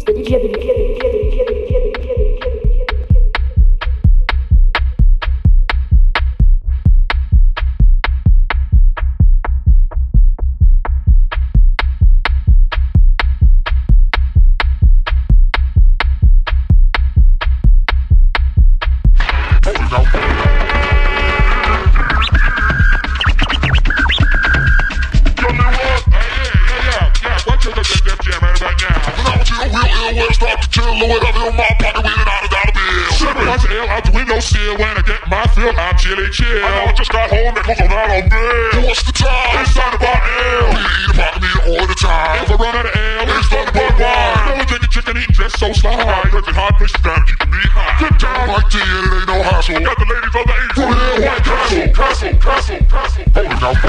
Chili chill. I just got home and close out on bill. What's the time? It's time to buy ale. We eat a pot of meat all the time. If I run out of ale, it's time to buy wine. Never drinking chicken, eating just so sly. Drinking hot fish down, keeping me high. Get down like tea and it ain't no hassle. Got the ladies on the eight. For real, White Castle, Castle, Castle, Castle. Hold it now.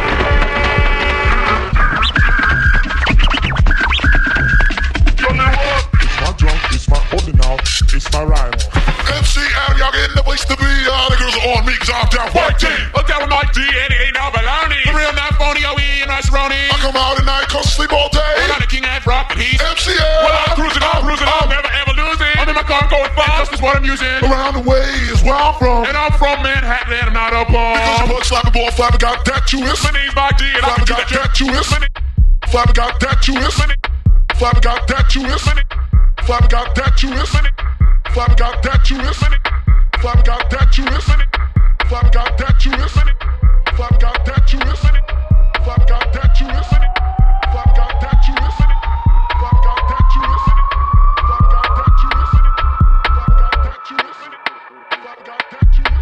It's my drunk, it's my holding out, it's my rhyme. MCL, y'all getting the place to be. All the girls are on me cause I'm down White Tee. I'm down with Mike D and it ain't no baloney. The real not phony, OE and Rice-A-Roni. I come out at night cause I sleep all day. I'm the king and rock and he's MCL. Well, I'm cruising, I'm never ever losing. I'm in my car going fast, that's what I'm using. Around the way is where I'm from. And I'm from Manhattan and I'm not a bum. Because your mug slapping ball, Flabber got that you is. My name's Mike D and Flabber got that you is. Flabber got that you is. Flabber got that you is. Flabber got that you is. Flabber got that you is. Flabber got that you is. Flabber got that you is. Flabber got that you is. Flabber got that you is. Flabber got that you is. Flabber got that you is. Flabber got that you is. Flabber got that you is. Flabber got that you is.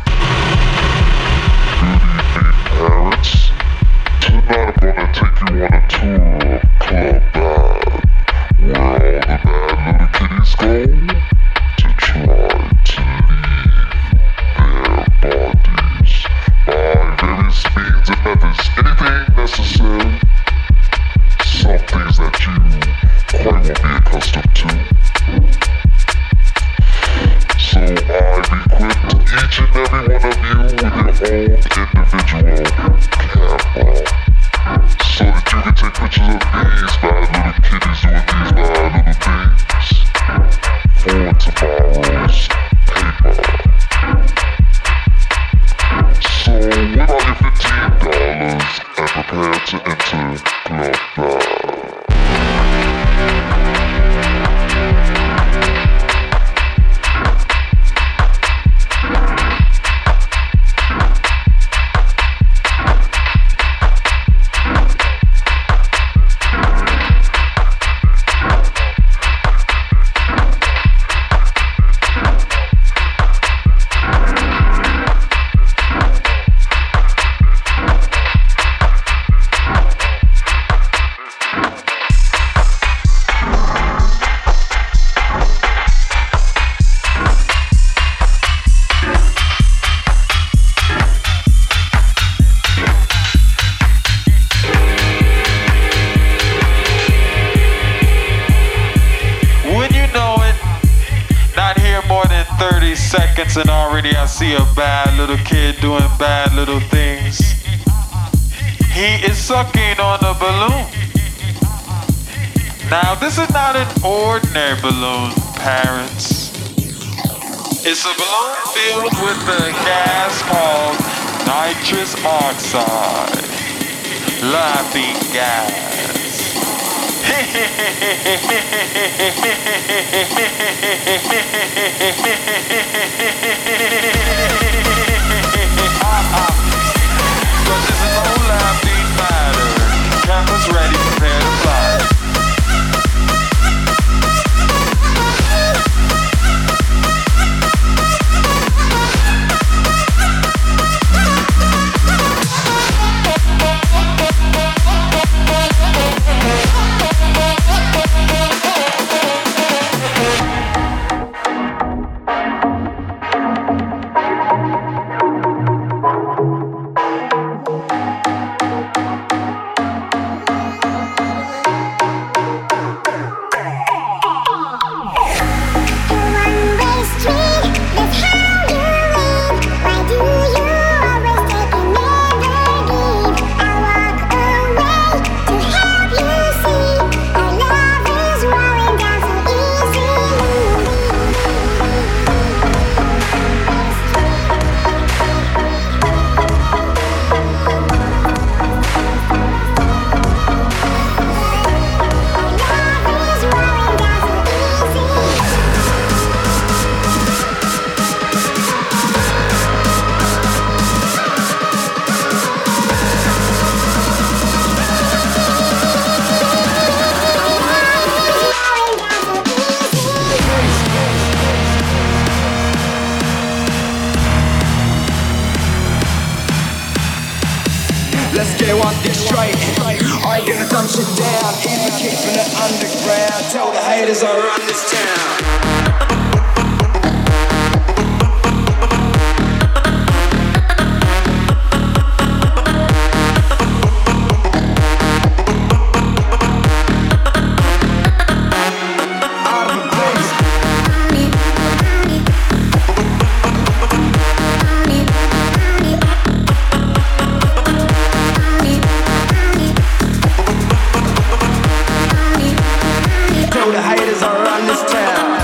Parents, tonight I'm gonna take you on a tour of Club Bad, where all the bad little kitties go to try to leave their bodies by various means and methods. Anything necessary, some things that you quite won't be accustomed to. So I've equipped each and every one of you with your own individual camera, so that you can take pictures of these bad little kitties doing these bad little things for tomorrow's paper. So whip out your $15 and prepare to enter Club Bad. And already I see a bad little kid doing bad little things. He is sucking on a balloon. Now this is not an ordinary balloon, parents. It's a balloon filled with a gas called nitrous oxide. Laughing gas. Cause this is no laughing matter. Cameras ready, prepare to fly. Gonna dump shit down, even kick from the underground. Tell the haters I run this town. The haters are on this town.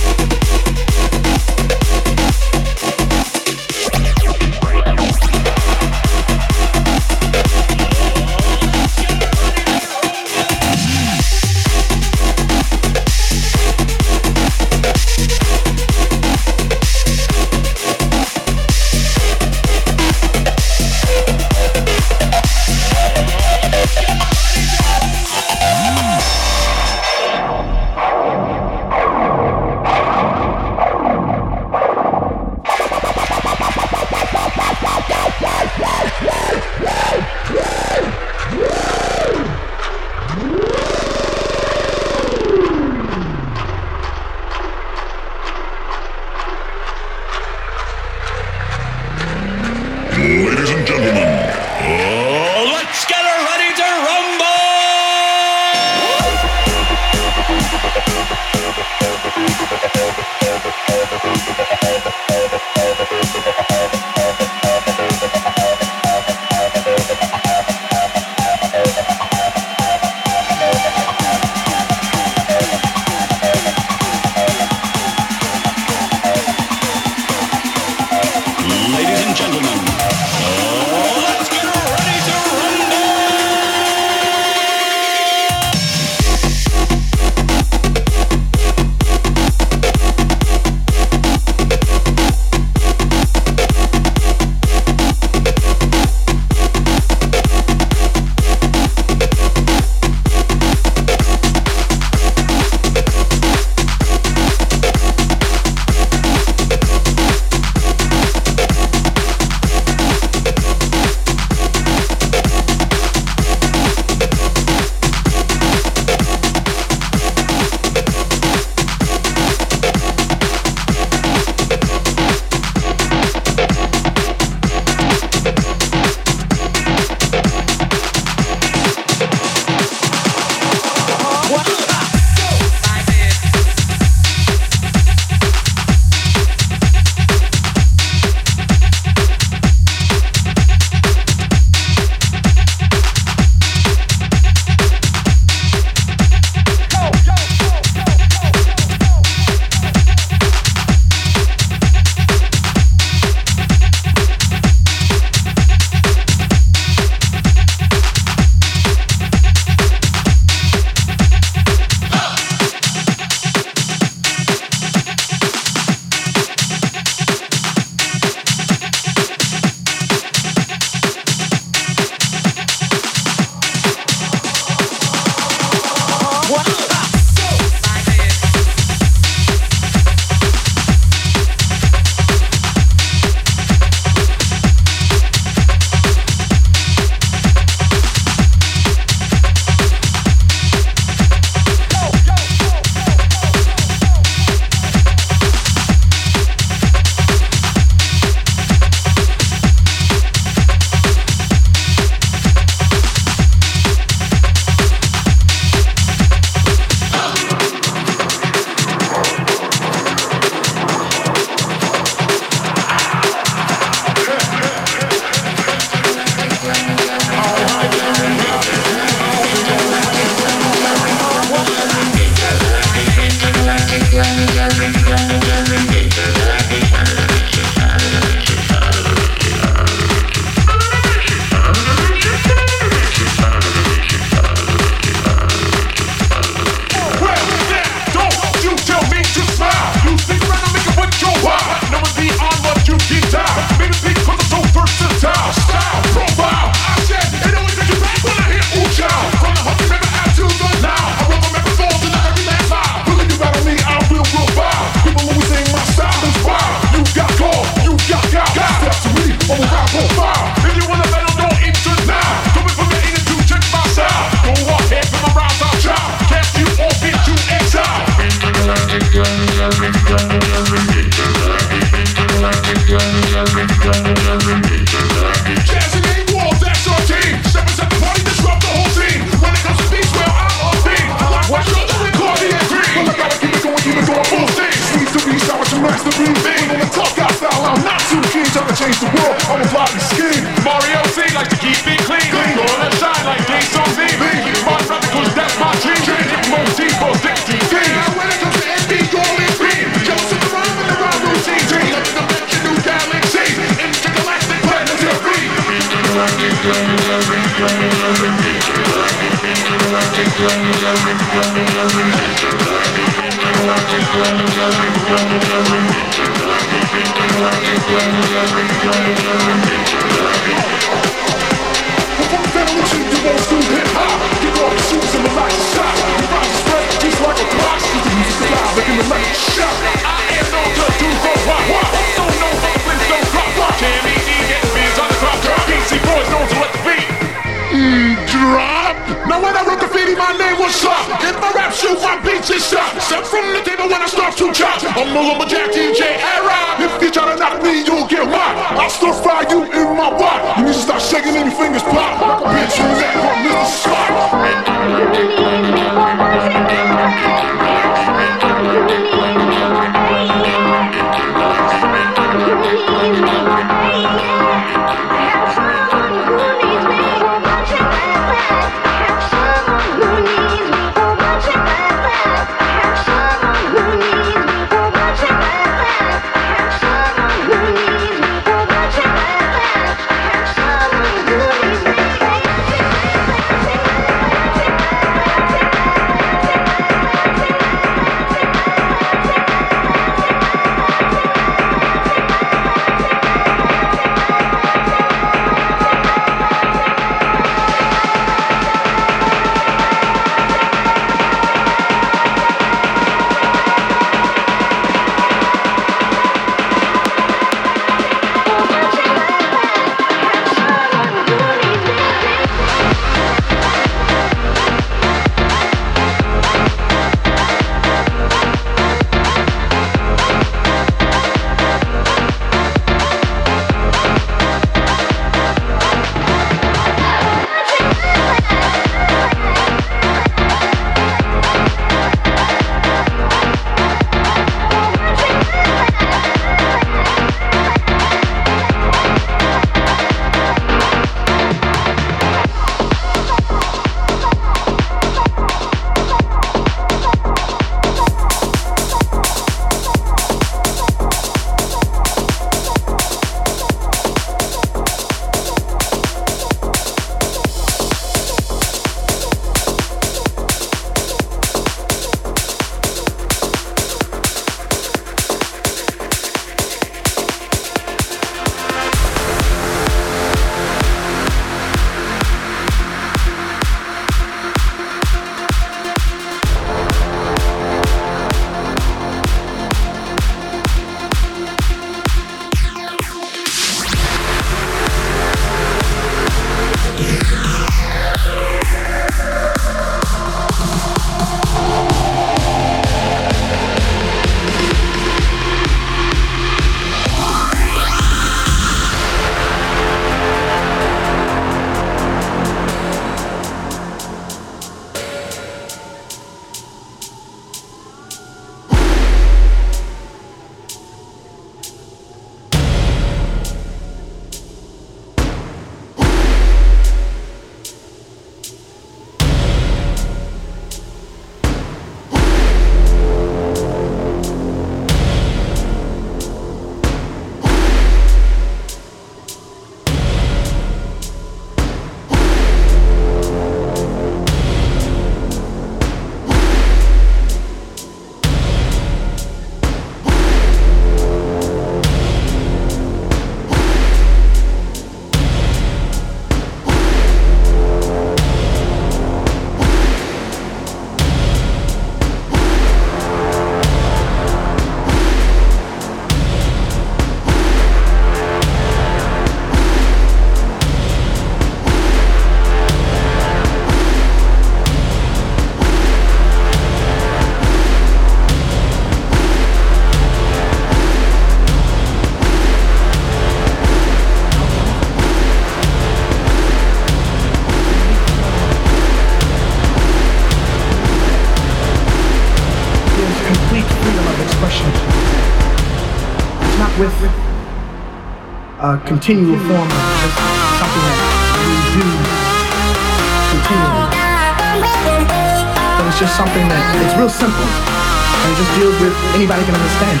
perfection. It's not with a continual form of just something that we do continually. But it's just something that it's real simple, and it just deals with anybody can understand.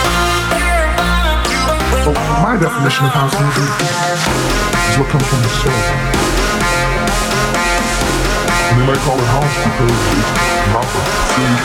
Well, my definition of house music is what comes from the soul. And they might call it house because it's not the same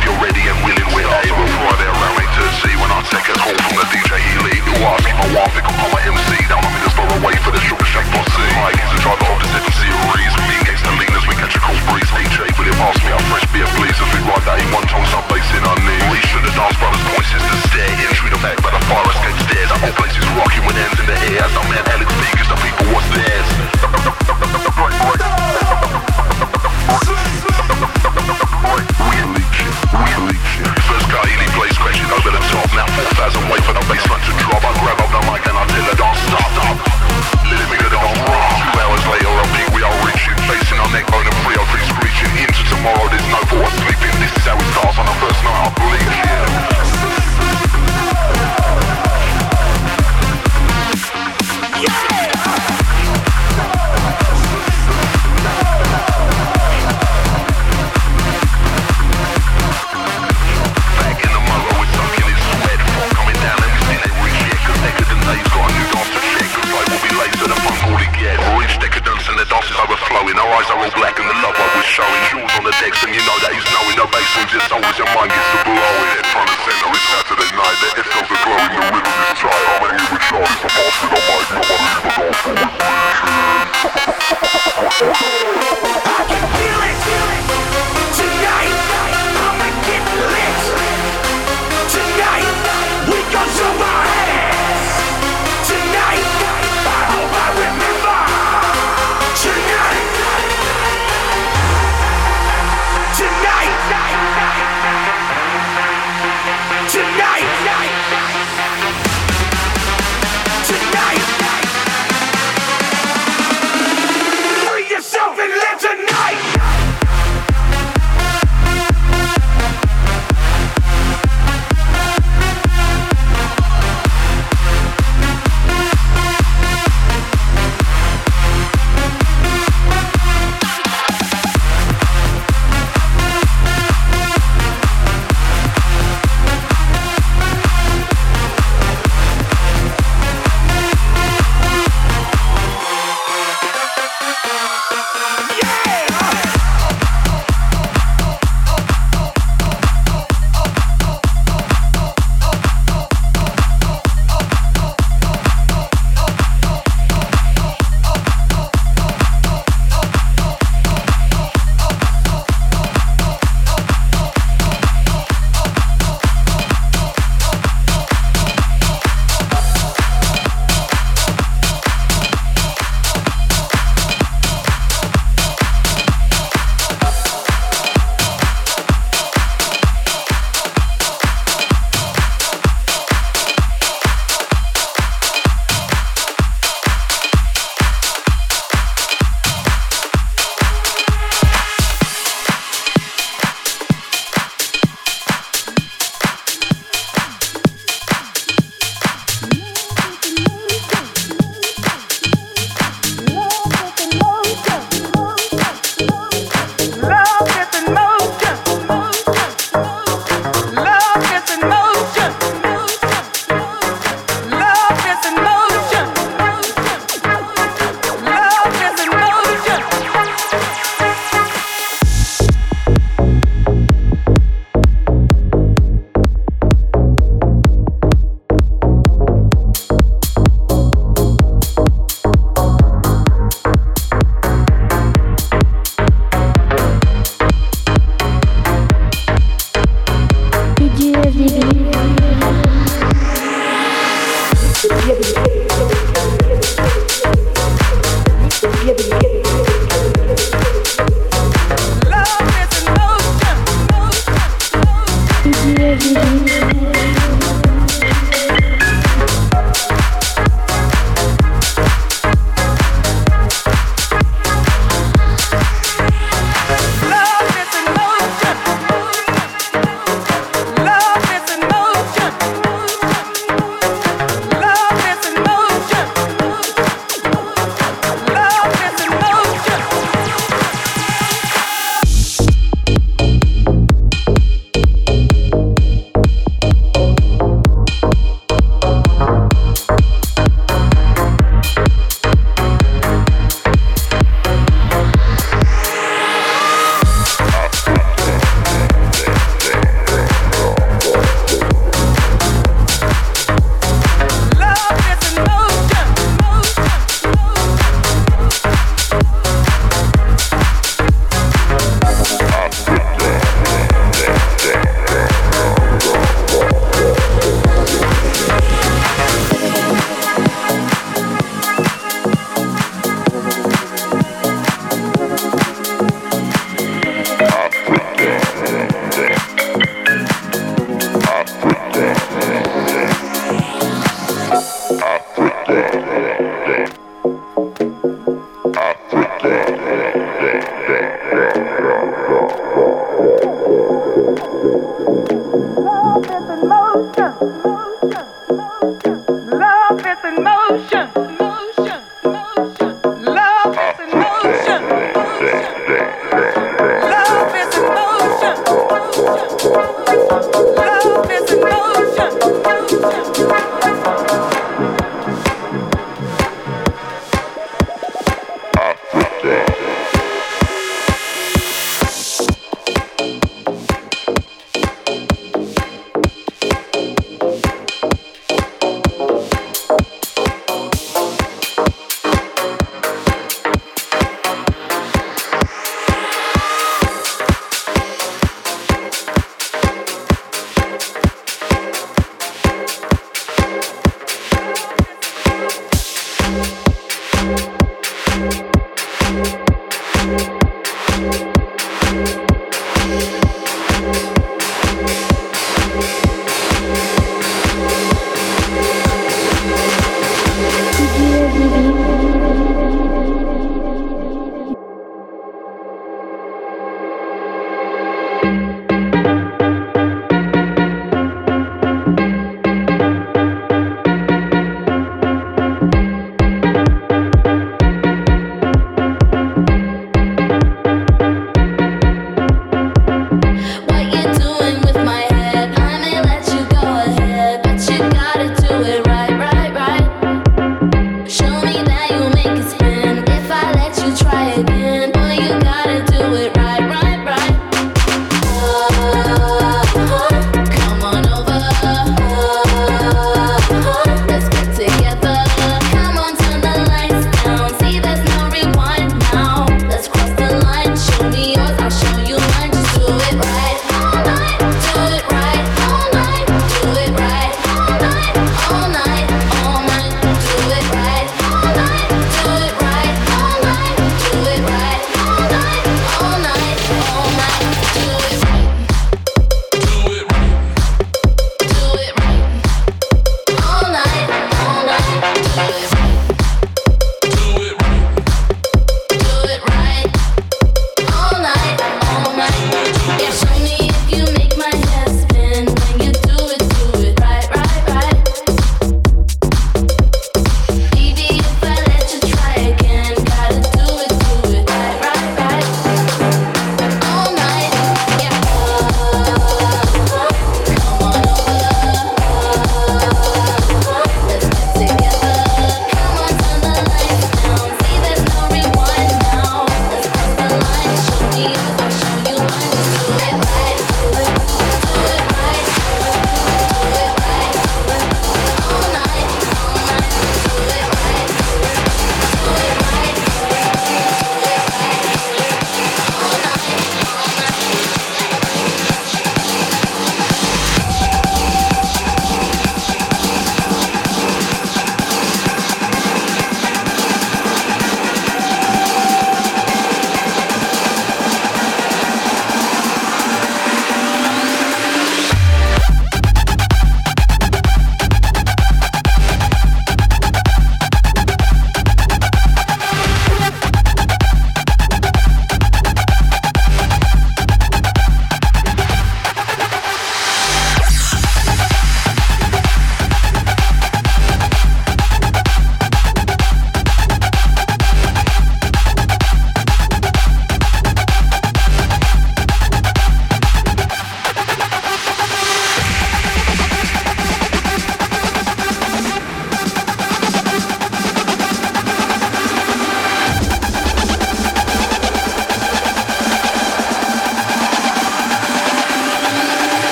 if you're ready and willing, we're able. Friday around 8 to see when I take a call from the DJ Elite. Who asked me my wife, pick up my MC. Down on Middlesbrough away for the Sugar Shack posse. Mike is the driver of the 7 Series. Me against the leaners, we catch a cold breeze. DJ William asked me, I'm fresh beer please. As we ride that in one tone, sub bass in our knees. We should have dance brothers, point sisters, stare. Entry the back by the fire escape stairs. That whole place is rocking with hands in the air. As the man Alex speakers, the people what's theirs. First guy Ely plays crashing over the top. Now 4,000 wait for the bassline to drop. I grab up the mic and I tell her don't stop. Let me get on rock. 2 hours later I think we are reaching. Facing our neck bone and 303 screeching. Into tomorrow there's no for us sleeping. This is how it starts on the first night I blink, yeah. Overflowing, our eyes are all black and the love I was showing. Jewels on the decks and you know that he's knowing. No bass swings your soul as your mind gets to blowing. Head front and center, it's Saturday night. The head goes glowing, the rhythm is tight. I'm hanging with Charlie, so pass me the mic. Nobody even goes for it. I can feel it. Tonight, I'ma get lit. Tonight, we gon' show our ass. Tonight, I hope I remember. Tonight, free yourself and live tonight.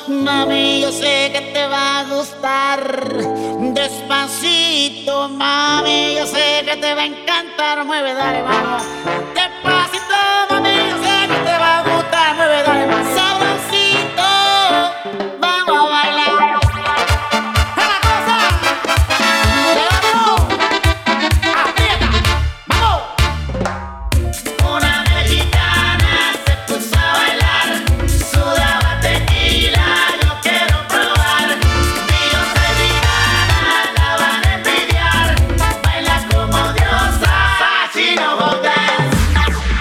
Mami, yo sé que te va a gustar. Despacito, mami, yo sé que te va a encantar. Mueve, dale, vamos. Despacito, mami, yo sé que te va a gustar. Mueve, dale, más sabrosito. Vamos a bailar. ¡Esa cosa! ¡Levantó! ¡Aprieta! ¡Vamos! Una mexicana se puso a bailar. Sudaba tequila, yo quiero probar. Dios es gitana, la van a envidiar. Baila como diosa, así no botas.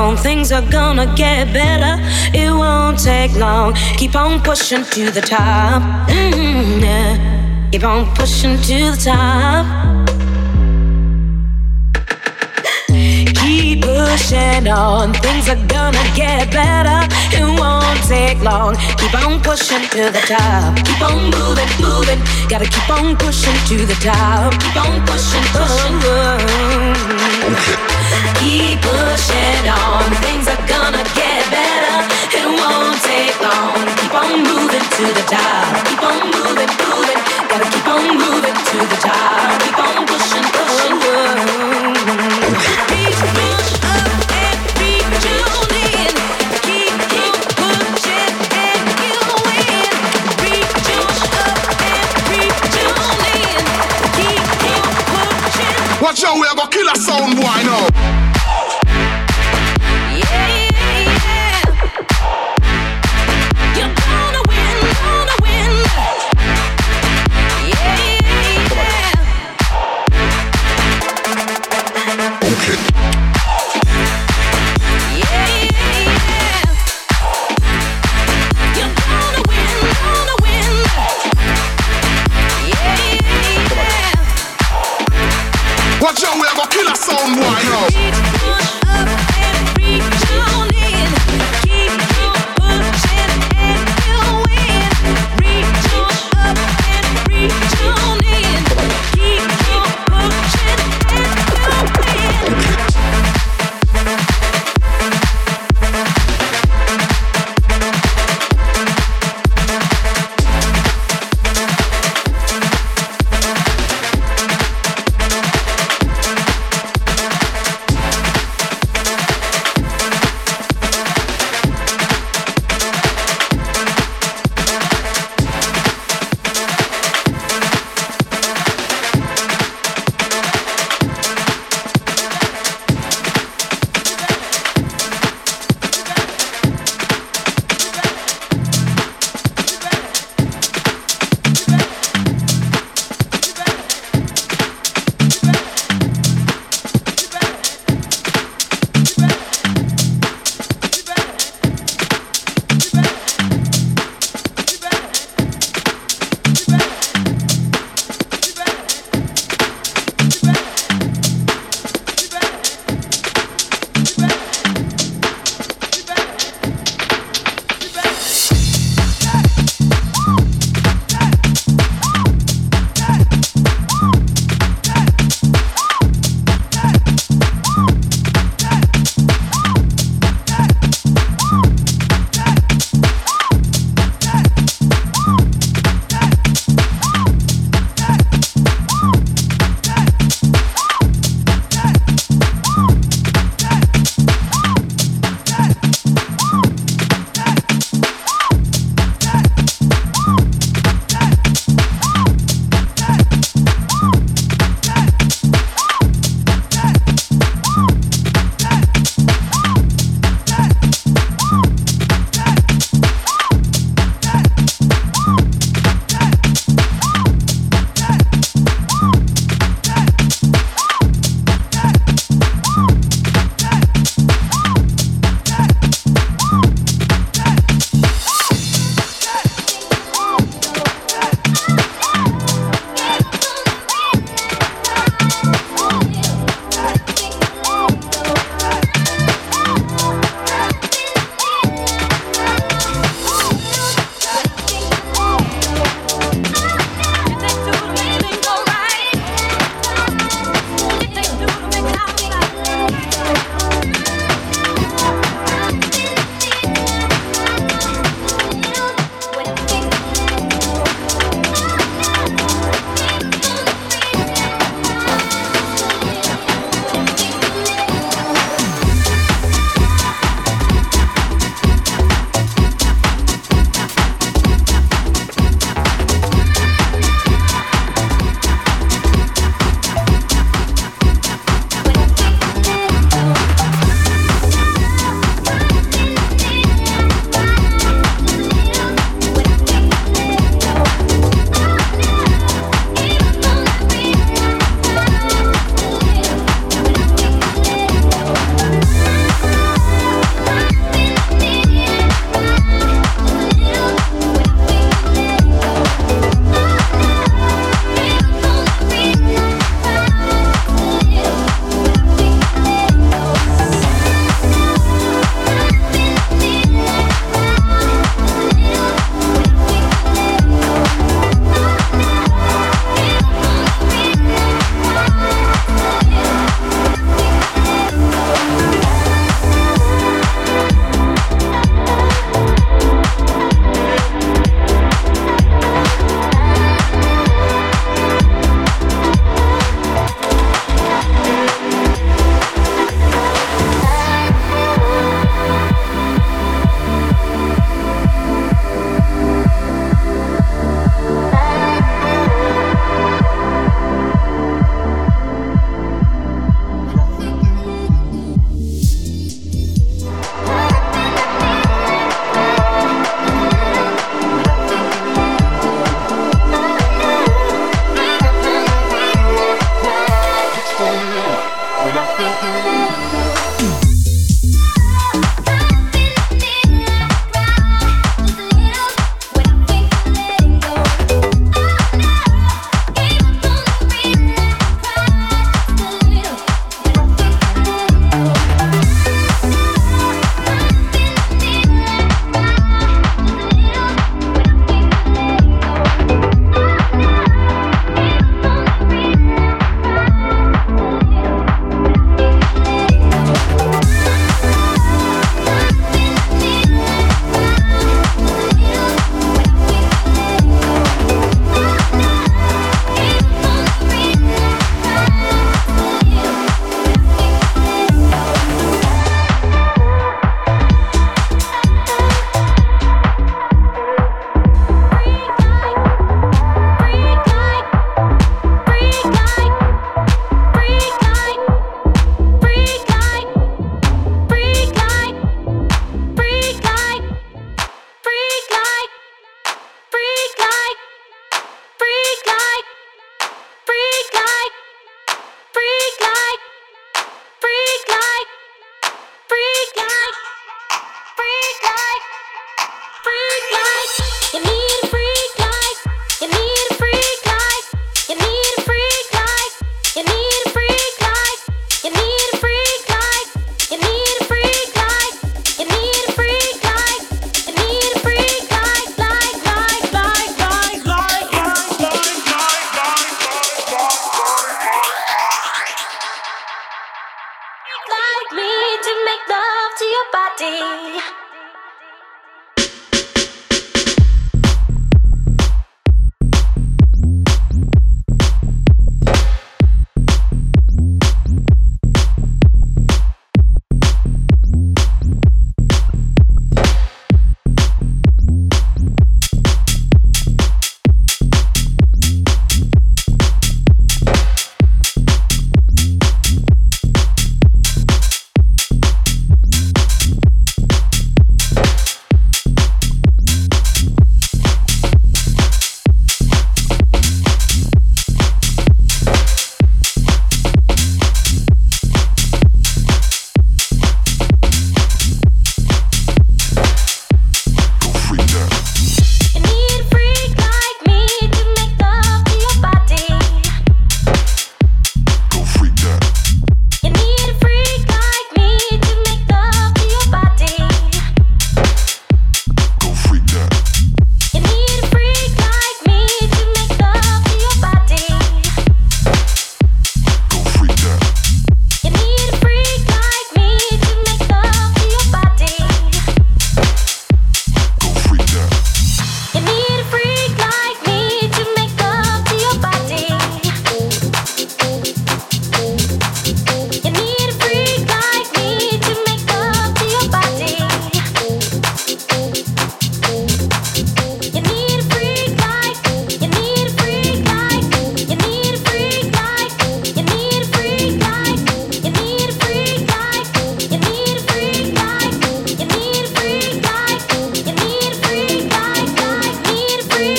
on, things are gonna get better. It won't take long. Keep on pushing to the top. Yeah. Keep on pushing to the top. Keep pushing on, things are gonna get better. It won't take long. Keep on pushing to the top. Keep on moving, moving. Gotta keep on pushing to the top. Keep on pushing, pushing. Keep pushing on, things are gonna get better. It won't take long. Keep on moving to the top. Keep on moving, moving. Gotta keep on moving to the top. Keep on pushing, pushing. Reach up and reach on in. Keep pushing and you win. Reach up and reach on in. Keep pushing. Watch out, we have a killer sound boy now. Watch out, we have a killer sound boy now. Push up and reach on in. Keep pushing and you win. Reach up and reach on in. Keep pushing and you win.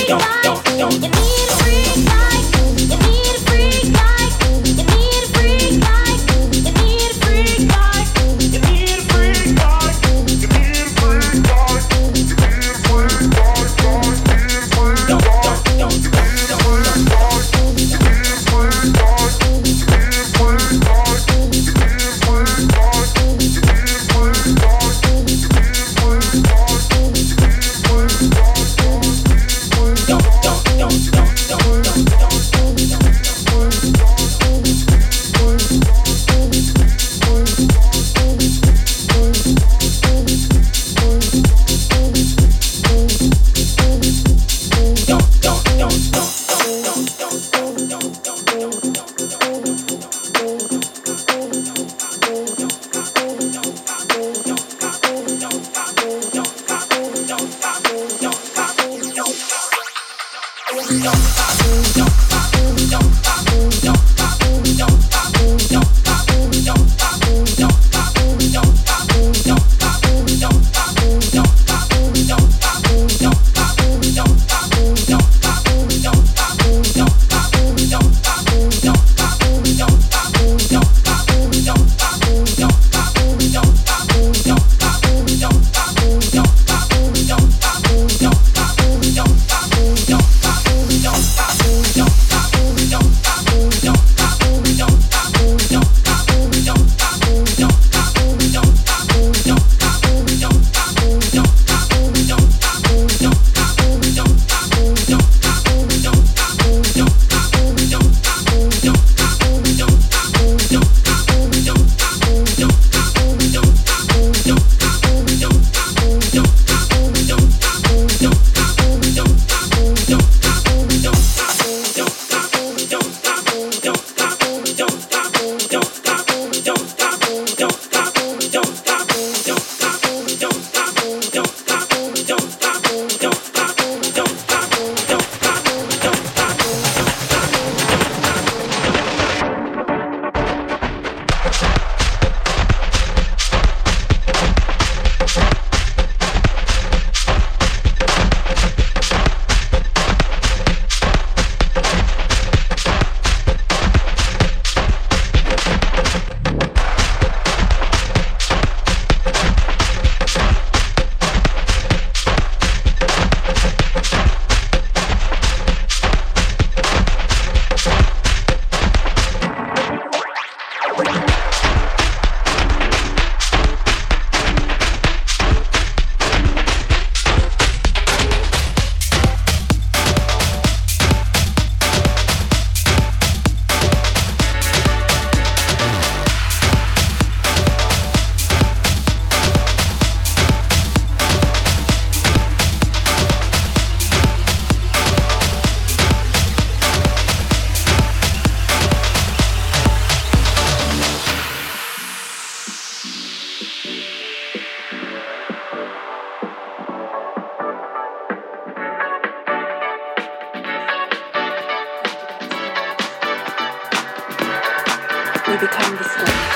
we become the stars.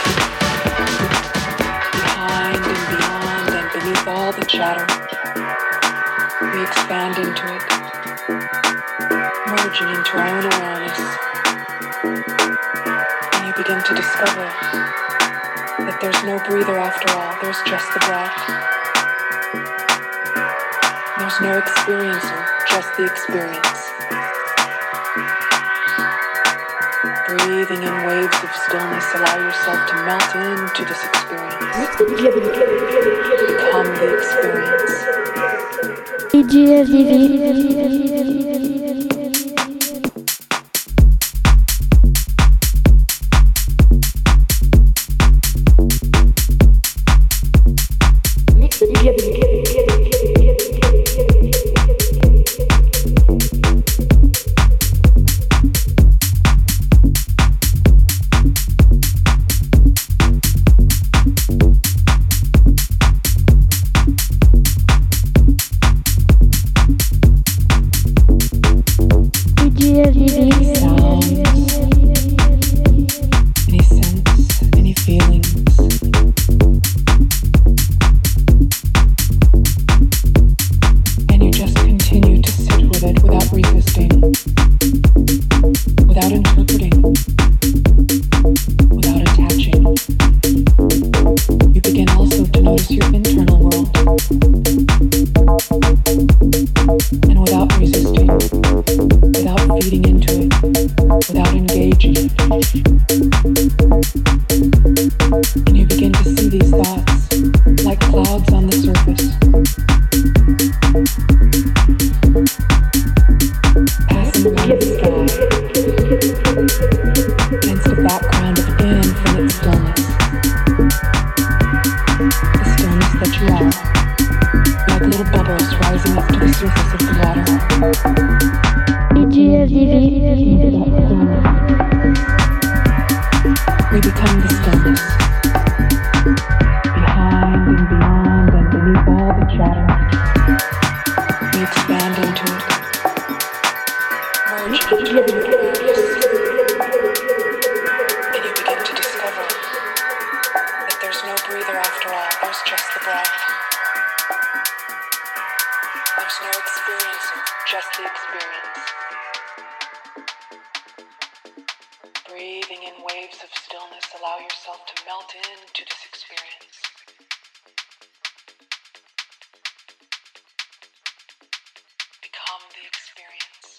Behind and beyond and beneath all the chatter, we expand into it, merging into our own awareness. And you begin to discover that there's no breather after all, there's just the breath. There's no experiencer, just the experience. Breathing in waves of stillness, allow yourself to melt into this experience. Become the experience. Without fleeting into it without engaging it. And you begin to see these thoughts like clouds on the surface, passing around the sky against a background of infinite stillness. The stillness that you are, like little bubbles rising up to the surface of the water. We become the stillness, behind and beyond and beneath all the chatter. We expand into it, merge into the universe, and you begin to discover that there's no breather after all, there's just the breath. There's no experiencer, just the experience. Breathing in waves of stillness, allow yourself to melt into this experience. Become the experience.